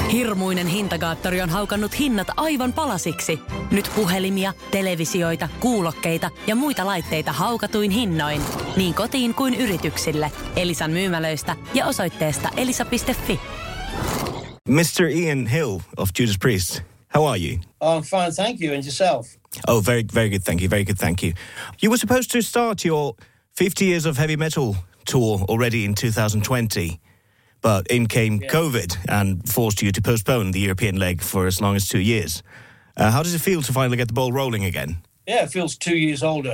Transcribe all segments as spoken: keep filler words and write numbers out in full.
Hirmuinen hintakaattori on haukannut hinnat aivan palasiksi. Nyt puhelimia, televisioita, kuulokkeita ja muita laitteita haukatuin hinnoin. Niin kotiin kuin yrityksille. Elisan myymälöistä ja osoitteesta elisa piste fi. mister Ian Hill of Judas Priest, how are you? I'm fine, thank you. And yourself? Oh, very, very good, thank you. Very good, thank you. You were supposed to start your fifty Years of Heavy Metal tour already in two thousand twenty. But in came yeah. COVID and forced you to postpone the European leg for as long as two years. Uh, how does it feel to finally get the ball rolling again? Yeah, it feels two years older.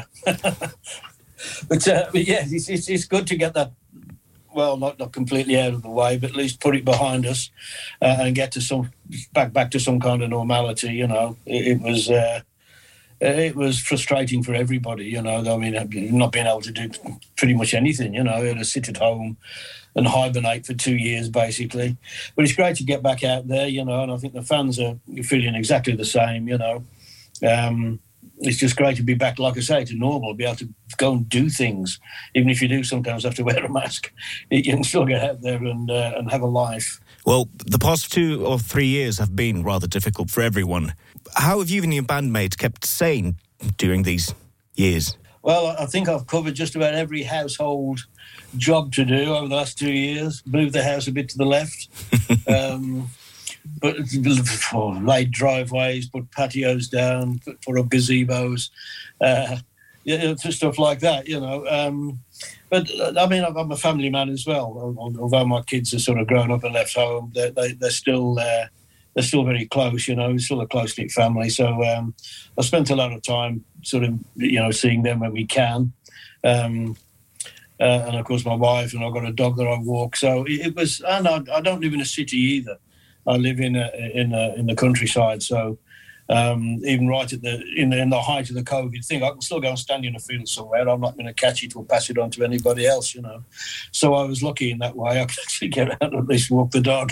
but, uh, but yeah, it's, it's, it's good to get that, well, not, not completely out of the way, but at least put it behind us uh, and get to some back back to some kind of normality. You know, it, it was uh, it was frustrating for everybody. You know, I mean, not being able to do pretty much anything. You know, to sit at home and hibernate for two years, basically. But it's great to get back out there, you know, and I think the fans are feeling exactly the same, you know. Um, it's just great to be back, like I say, to normal, be able to go and do things. Even if you do sometimes have to wear a mask, you can still get out there and, uh, and have a life. Well, the past two or three years have been rather difficult for everyone. How have you and your bandmates kept sane during these years? Well, I think I've covered just about every household job to do over the last two years. Moved the house a bit to the left, um, but oh, laid driveways, put patios down, put, put up gazebos, uh, yeah, stuff like that, you know. Um, but I mean, I'm a family man as well. Although my kids are sort of grown up and left home, they're, they, they're still uh, they're still very close. You know, we're still a close knit family. So um, I spent a lot of time, sort of, you know, seeing them when we can. Um, Uh, and, of course, my wife, and I've got a dog that I walk. So it, it was, and I, I don't live in a city either. I live in a, in a, in the countryside. So um, even right at the in, the in the height of the COVID thing, I can still go and stand in a field somewhere. I'm not going to catch it or pass it on to anybody else, you know. So I was lucky in that way. I could actually get out and at least walk the dog.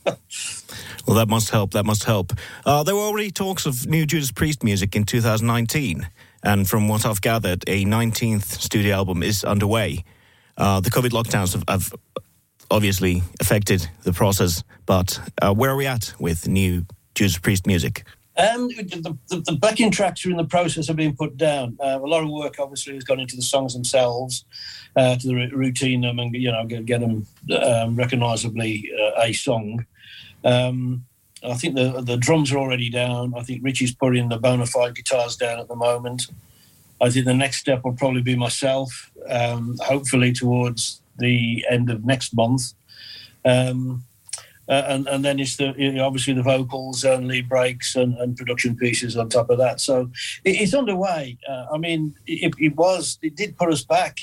Well, that must help. That must help. Uh, there were already talks of new Judas Priest music in two thousand nineteen. And from what I've gathered, a nineteenth studio album is underway. Uh, the COVID lockdowns have, have obviously affected the process, but uh, where are we at with new Judas Priest music? Um, the, the, the backing tracks are in the process of being put down. Uh, a lot of work, obviously, has gone into the songs themselves, uh, to the routine them and, you know, get, get them um, recognisably uh, a song. Um, I think the the drums are already down. I think Richie's putting the bona fide guitars down at the moment. I think the next step will probably be myself, um, hopefully towards the end of next month. Um, uh, and, and then it's the you know, obviously the vocals and lead breaks and, and production pieces on top of that. So it, it's underway. Uh, I mean, it, it was, it did put us back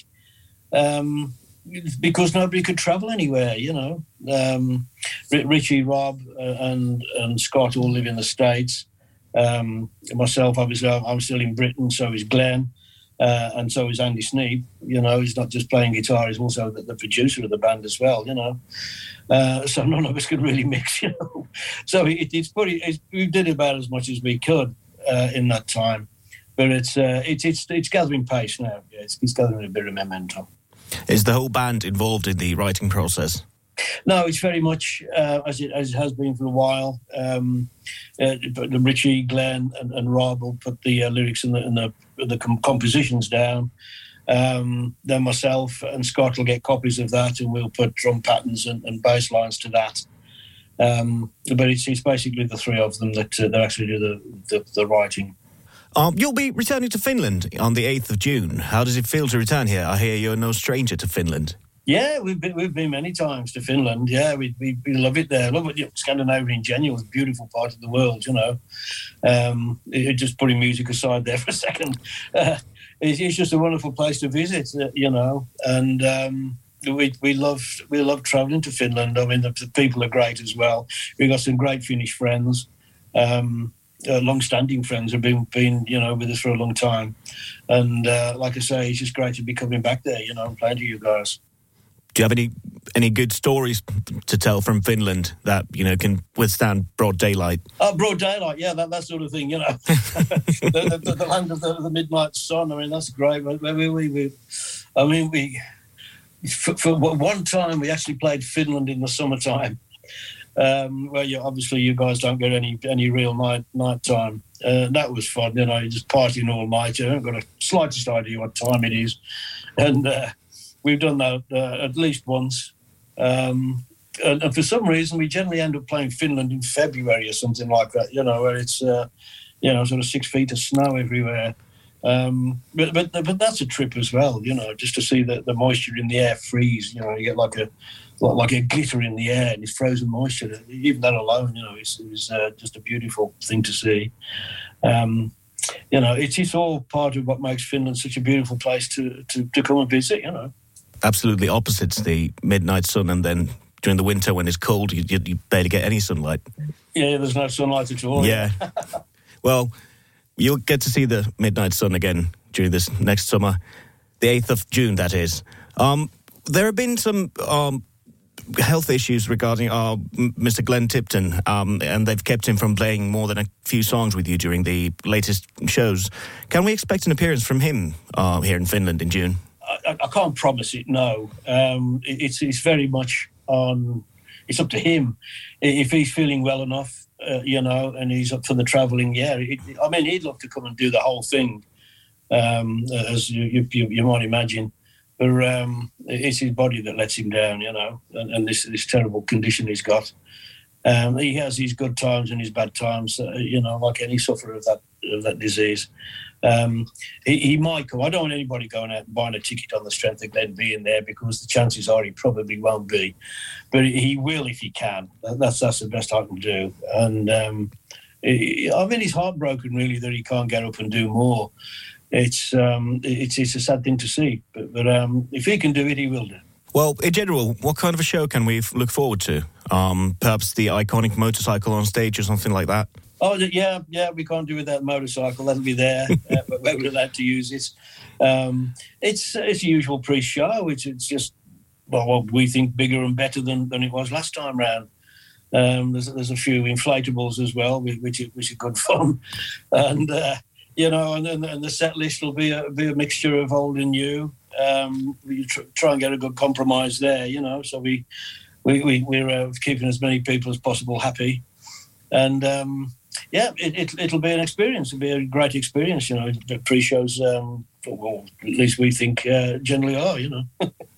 um, because nobody could travel anywhere, you know. Um, Richie, Rob uh, and, and Scott all live in the States. Um, myself, obviously, I'm still in Britain, so is Glenn, uh, and so is Andy Sneap. You know, he's not just playing guitar, he's also the, the producer of the band as well, you know. Uh, so none of us could really mix, you know. So it, it's pretty, it's, we did about as much as we could uh, in that time. But it's, uh, it's, it's, it's gathering pace now. Yeah, it's, it's gathering a bit of momentum. Is the whole band involved in the writing process? No, it's very much uh, as it as it has been for a while. Um, uh, Richie, Glenn, and, and Rob will put the uh, lyrics and the, and the, the com- compositions down. Um, then myself and Scott will get copies of that, and we'll put drum patterns and, and bass lines to that. Um, but it's, it's basically the three of them that uh, that actually do the the, the writing. Um, you'll be returning to Finland on the eighth of June. How does it feel to return here? I hear you're no stranger to Finland. Yeah, we've been we've been many times to Finland. Yeah, we we, we love it there. Love it. You know, Scandinavia in general is a beautiful part of the world. You know, um, it, just putting music aside there for a second, uh, it's, it's just a wonderful place to visit. Uh, you know, and um, we we love we love travelling to Finland. I mean, the, the people are great as well. We've got some great Finnish friends. Um, Uh, long-standing friends have been, been, you know, with us for a long time. And uh, like I say, it's just great to be coming back there, you know, and playing to you guys. Do you have any any good stories to tell from Finland that, you know, can withstand broad daylight? Oh, broad daylight, yeah, that, that sort of thing, you know. the, the, the land of the, the midnight sun, I mean, that's great. We, we, we, I mean, we, for, for one time, we actually played Finland in the summertime. Um, well, yeah, obviously you guys don't get any any real night night time. Uh, that was fun, you know, you're just partying all night. You haven't got a slightest idea what time it is. And uh, we've done that uh, at least once. Um, and, and for some reason, we generally end up playing Finland in February or something like that, you know, where it's, uh, you know, sort of six feet of snow everywhere. Um, but, but but that's a trip as well, you know, just to see the, the moisture in the air freeze. You know, you get like a like a glitter in the air and it's frozen moisture. Even that alone, you know, it's, it's uh, just a beautiful thing to see. Um, you know, it's, it's all part of what makes Finland such a beautiful place to, to, to come and visit, you know. Absolutely opposites the midnight sun, and then during the winter when it's cold, you, you, you barely get any sunlight. Yeah, there's no sunlight at all. Yeah. Well, you'll get to see the midnight sun again during this next summer, the eighth of June, that is. Um, there have been some um, health issues regarding uh, Mister Glenn Tipton, um, and they've kept him from playing more than a few songs with you during the latest shows. Can we expect an appearance from him uh, here in Finland in June? I, I can't promise it, no. Um, it, it's, it's very much on, it's up to him. If he's feeling well enough, uh, you know, and he's up for the travelling, yeah. It, I mean, he'd love to come and do the whole thing, um, as you, you, you might imagine. But um, it's his body that lets him down, you know, and, and this, this terrible condition he's got. Um, he has his good times and his bad times, uh, you know, like any sufferer of that of that disease. Um, he, he might come. I don't want anybody going out and buying a ticket on the strength of Glenn being there, because the chances are he probably won't be. But he will if he can. That's that's the best I can do. And um, he, I mean, he's heartbroken really that he can't get up and do more. It's um, it's it's a sad thing to see. But, but um, if he can do it, he will do. Well, in general, what kind of a show can we f- look forward to? Um, perhaps the iconic motorcycle on stage or something like that? Oh, yeah, yeah, we can't do without motorcycle. That'll be there, uh, but we're allowed to use it. Um, it's it's a usual pre-show. It's, it's just, well, what we think bigger and better than, than it was last time round. Um, there's, there's a few inflatables as well, which, which are good fun. And, uh, you know, and, and, and the set list will be a, be a mixture of old and new. Um, we tr- try and get a good compromise there, you know, so we, we, we, we're uh, keeping as many people as possible happy. And, um, yeah, it, it, it'll be an experience. It'll be a great experience, you know. The pre-shows, um, well, at least we think uh, generally are, you know.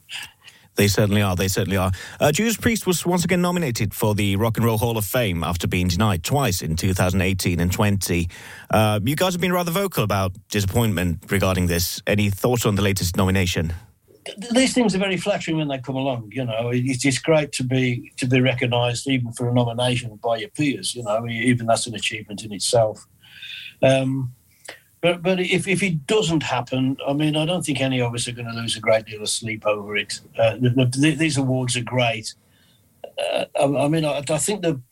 They certainly are. They certainly are. Uh, Judas Priest was once again nominated for the Rock and Roll Hall of Fame after being denied twice in two thousand eighteen and twenty. Uh, you guys have been rather vocal about disappointment regarding this. Any thoughts on the latest nomination? These things are very flattering when they come along, you know. It's, it's great to be to be recognised even for a nomination by your peers, you know. Even that's an achievement in itself. Um, but but if, if it doesn't happen, I mean, I don't think any of us are going to lose a great deal of sleep over it. Uh, the, the, these awards are great. Uh, I, I mean, I, I think the,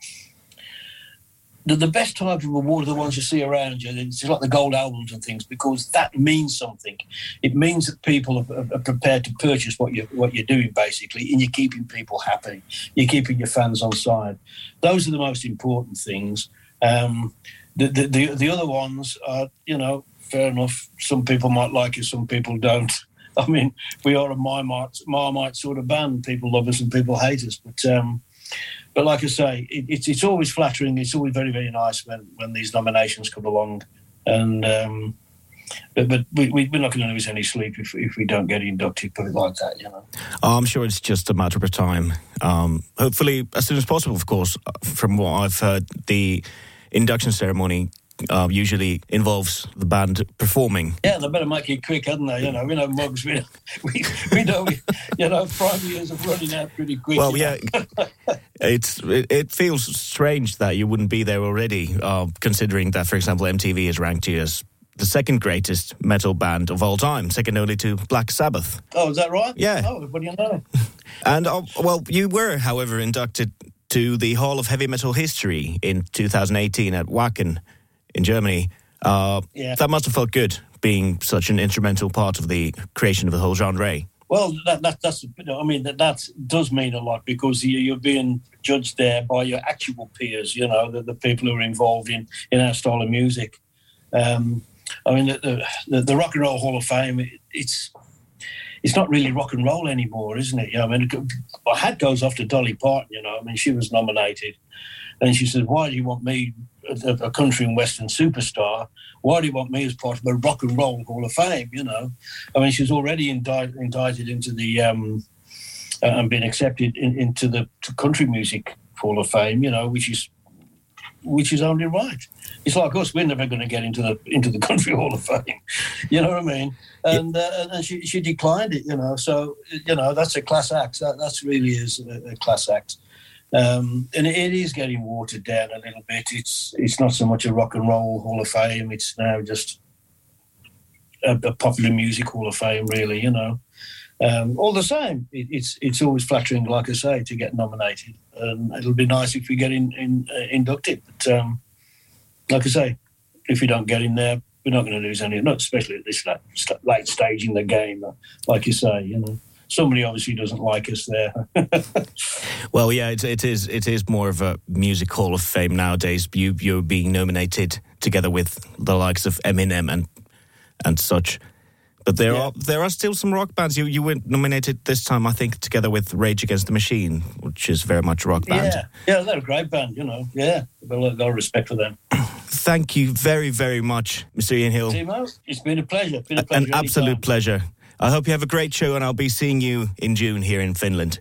the the best type of award are the ones you see around you. It's like the gold albums and things, because that means something. It means that people are, are prepared to purchase what you what you're doing, basically, and you're keeping people happy. You're keeping your fans on side. Those are the most important things. Um, the, the the the other ones are, you know, fair enough. Some people might like it, some people don't. I mean, we are a Marmite, Marmite sort of band. People love us and people hate us, but. Um, But like I say, it, it's it's always flattering. It's always very, very nice when, when these nominations come along. And um, but but we, we're not going to lose any sleep if if we don't get inducted, put it like that, you know. I'm sure it's just a matter of time. Um, hopefully, as soon as possible, of course. From what I've heard, the induction ceremony uh, usually involves the band performing. Yeah, they better make it quick, hadn't they? You know, we know mugs. We we, we know, we, you know, prime years are running out pretty quick. Well, yeah. It's it, it feels strange that you wouldn't be there already, uh, considering that, for example, M T V has ranked you as the second greatest metal band of all time, second only to Black Sabbath. Oh, is that right? Yeah. Oh, what do you know? And, uh, well, you were, however, inducted to the Hall of Heavy Metal History in two thousand eighteen at Wacken in Germany. Uh, yeah. That must have felt good, being such an instrumental part of the creation of the whole genre. Well, that, that, that's, I mean, that, that does mean a lot, because you, you're being judged there by your actual peers, you know, the, the people who are involved in, in our style of music. Um, I mean, the, the, the Rock and Roll Hall of Fame, it, it's it's not really rock and roll anymore, isn't it? Yeah, I mean, my hat goes off to Dolly Parton. You know, I mean, she was nominated, and she said, "Why do you want me, a, a country and western superstar? Why do you want me as part of a rock and roll Hall of Fame?" You know, I mean, she's already indicted, indicted into the um, uh, and been accepted in, into the country music Hall of Fame. You know, which is which is only right. It's like us; we're never going to get into the into the country Hall of Fame. You know what I mean? And uh, and she she declined it. You know, so you know that's a class act. That that's really is a, a class act. Um, and it, it is getting watered down a little bit. It's it's not so much a rock and roll Hall of Fame. It's now just a, a popular music Hall of Fame, really. You know, um, all the same, it, it's it's always flattering, like I say, to get nominated. And it'll be nice if we get in, in uh, inducted. But um, like I say, if we don't get in there, we're not going to lose any. Not especially at this late, late stage in the game, like you say. You know. Somebody obviously doesn't like us there. Well, yeah, it, it is. It is more of a music Hall of Fame nowadays. You you're being nominated together with the likes of Eminem and and such. But there yeah. are there are still some rock bands. You you were nominated this time, I think, together with Rage Against the Machine, which is very much a rock band. Yeah, yeah, they're a great band. You know, yeah, a lot of respect for them. Thank you very very much, Mister Ian Hill. Timo, it's been a pleasure. It's been a pleasure. An absolute pleasure. I hope you have a great show, and I'll be seeing you in June here in Finland.